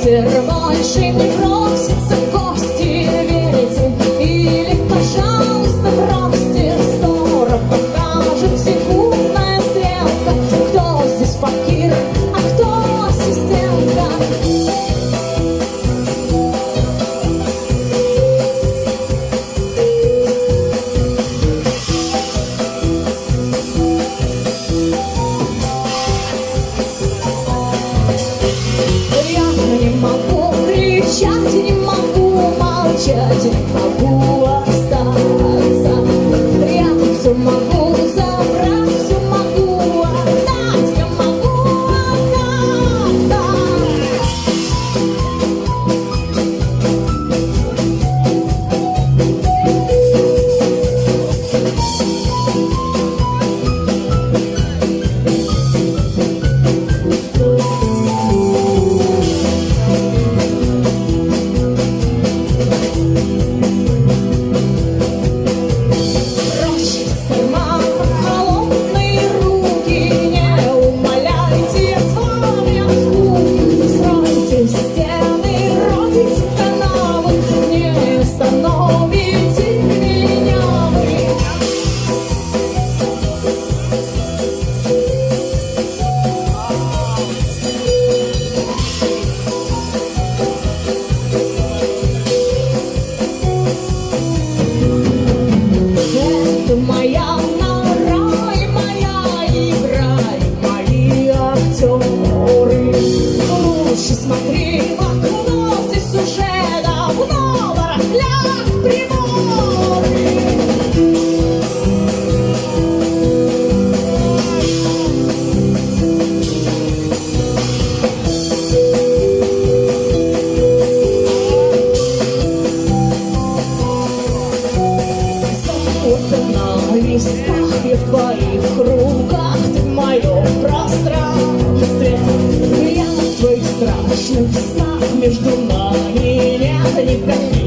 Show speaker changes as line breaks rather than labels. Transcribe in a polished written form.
ветер больше не просится в гости, верите? Или, пожалуйста, бросьте, скоро покажет секундная стрелка, кто здесь факир, а кто ассистентка. Не могу молчать, не могу остаться. Я все могу забрать, все могу отдать, я могу отдаться. Моя нора и моя игра, и мои актеры. Лучше смотри в окно, здесь уже давно барахлят приборы. На листах и в твоих руках, ты в моем пространстве. Я в твоих страшных снах, между нами нет никаких